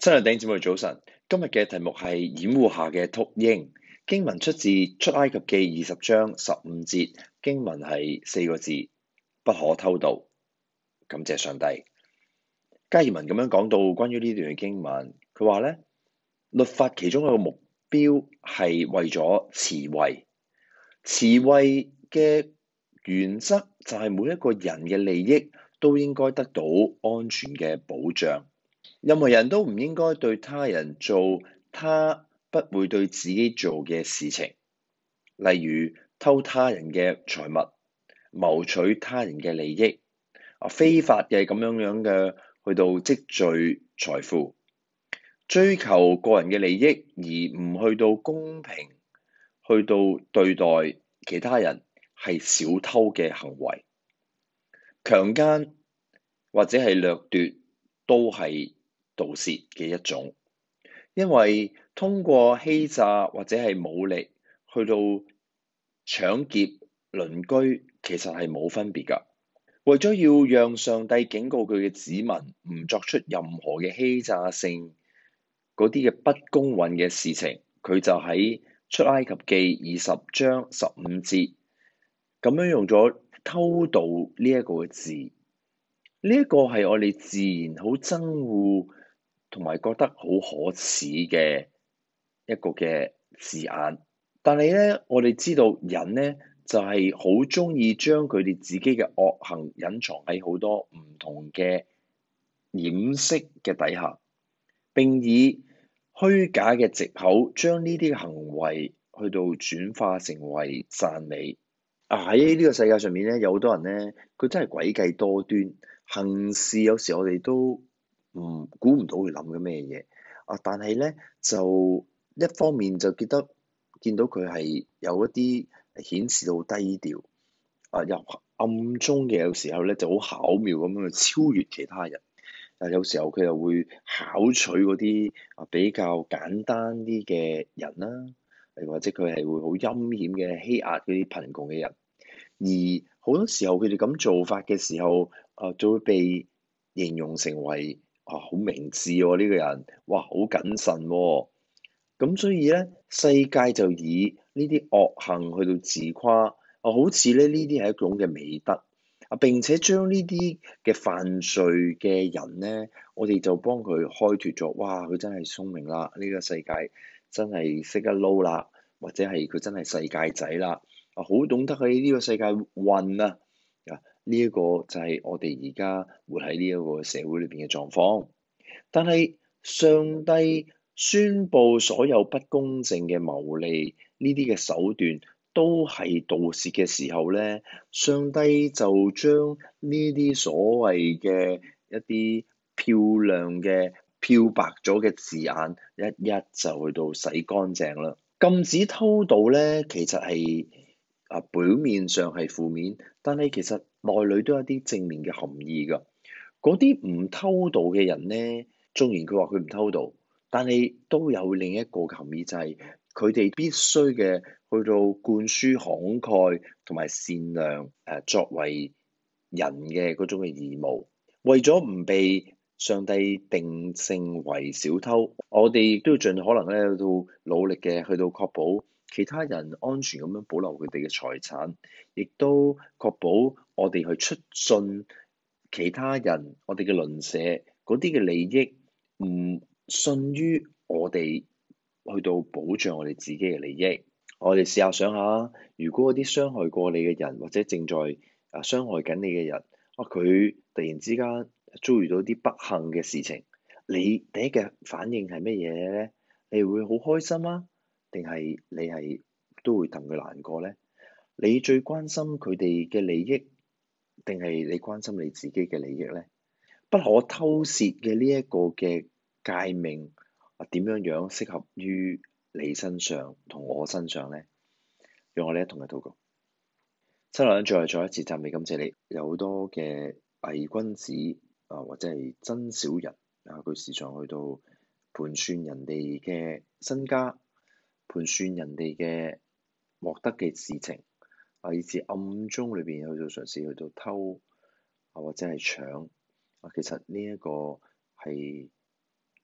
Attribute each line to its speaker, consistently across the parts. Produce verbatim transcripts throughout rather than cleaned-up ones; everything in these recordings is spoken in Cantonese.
Speaker 1: 親愛的弟兄姊妹早晨，今日嘅題目係掩護下嘅禿鷹。經文出自出埃及記二十章十五節，經文係四個字：不可偷盜。感謝上帝。加爾文咁樣講到關於呢段嘅經文，佢話咧，律法其中一個目標係為咗慈惠，慈惠嘅原則就係每一個人嘅利益都應該得到安全嘅保障。任何人都唔應該對他人做他不會對自己做嘅事情，例如偷他人嘅財物、謀取他人嘅利益、啊非法嘅咁樣樣嘅去到積聚財富、追求個人嘅利益而唔去到公平去到對待其他人，係小偷嘅行為。強姦或者係掠奪都係盜竊嘅一種，因為通過欺詐或者係武力去到搶劫鄰居，其實係冇分別㗎。為咗要讓上帝警告佢嘅子民唔作出任何嘅欺詐性嗰啲嘅不公允嘅事情，佢就喺出埃及記二十章十五節咁樣用咗偷盜呢一個字。呢一個係我哋自然好憎惡同埋覺得好可恥嘅一個嘅字眼，但係咧，我哋知道人咧就係好中意將佢哋自己嘅惡行隱藏喺好多唔同嘅掩飾嘅底下，並以虛假嘅藉口將呢啲行為去到轉化成為讚美。啊，喺呢個世界上面咧，有好多人咧，佢真係詭計多端，行事有時我哋都唔估唔到佢諗緊咩嘢啊！但係咧，就一方面就記得見到佢係有一啲顯示到低調啊，又暗中嘅有時候咧就好巧妙咁樣去超越其他人。啊，有時候佢又會巧取嗰啲啊比較簡單啲嘅人啦。或者佢係會好陰險嘅欺壓嗰啲貧窮嘅人，而好多時候佢哋咁做法嘅時候，啊就會被形容成為啊好明智喎呢個人，哇好謹慎喎，咁所以咧世界就以呢啲惡行去到自誇，啊好似咧呢啲係一種嘅美德，啊並且將呢啲嘅犯罪嘅人咧，我哋就幫佢開脫咗，哇佢真係聰明啦，呢個世界真係識得撈啦，或者係佢真係世界仔啦，啊好懂得喺呢個世界混啊！啊呢一個就係我哋而家活喺呢一個社會裏邊嘅狀況。但係上帝宣佈所有不公正嘅牟利呢啲嘅手段都係盜竊嘅時候咧，上帝就將呢啲所謂嘅一啲漂亮嘅漂白咗嘅字眼，一一就去到洗乾淨啦。禁止偷盜咧，其實係啊表面上係負面，但係其實內裏都有啲正面嘅含義㗎。嗰啲唔偷盜嘅人咧，縱然佢話佢唔偷盜，但係都有另一個含義，就係佢哋必須嘅去到灌輸慷慨同埋善良誒作為人嘅嗰種嘅義務，為咗唔被上帝定性為小偷，我哋亦都要盡可能咧去到努力嘅去到確保其他人安全咁樣保留佢哋嘅財產，亦都確保我哋去出信其他人，我哋嘅鄰舍嗰啲嘅利益唔遜於我哋去到保障我哋自己嘅利益。我哋試下想下，如果嗰啲傷害過你嘅人，或者正在啊傷害緊你嘅人，啊佢突然之間遭遇到啲不幸嘅事情，你第一嘅反應係乜嘢咧？你會好開心啊？定係你係都會戥佢難過咧？你最關心佢哋嘅利益，定係你關心你自己嘅利益咧？不可偷竊嘅呢一個嘅誡命啊，點樣樣適合於你身上同我身上咧？讓我哋一同嚟禱告。親愛嘅，再再一次讚美感謝你，有好多嘅偽君子啊，或者係真小人啊，佢時常去到盤算人哋嘅身家，盤算人哋嘅獲得嘅事情啊，以至暗中裏邊去到嘗試去到偷啊，或者係搶啊，其實呢一個係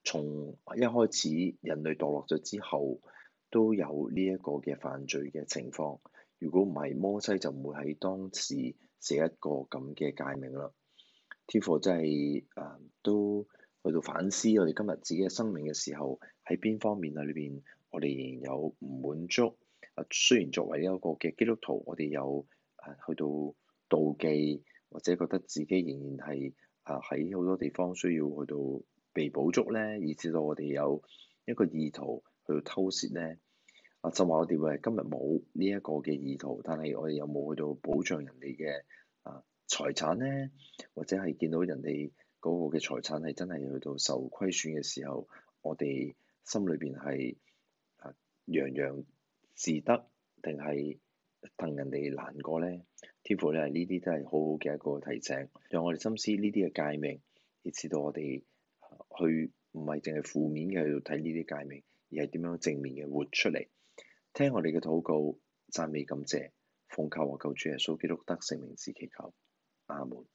Speaker 1: 從一開始人類墮落咗之後，都有呢一個嘅犯罪嘅情況。如果唔係，摩西就唔會喺當時寫一個咁嘅誡命啦。天父真係誒都去到反思我哋今日自己嘅生命嘅時候，喺邊方面啊裏邊，我哋仍然有唔滿足。啊，雖然作為一個嘅基督徒，我哋有誒去到妒忌，或者覺得自己仍然係啊喺好多地方需要去到被補足咧，以至到我哋有一個意圖去到偷竊咧。啊，就話我哋會係今日冇呢一個嘅意圖，但係我哋有冇去到保障人哋嘅啊財產咧？或者係見到人哋嗰個嘅財產係真係去到受虧損嘅時候，我哋心裏邊係啊洋洋自得，定係戥人哋難過咧？天父咧，呢啲都係好好嘅一個提醒，讓我哋深思呢啲嘅誡命，以至到我哋去唔係淨係負面嘅去睇呢啲誡命，而係點樣正面嘅活出嚟。聽我哋嘅禱告，讚美感謝，奉靠我救主耶穌基督得勝名字祈求，阿門。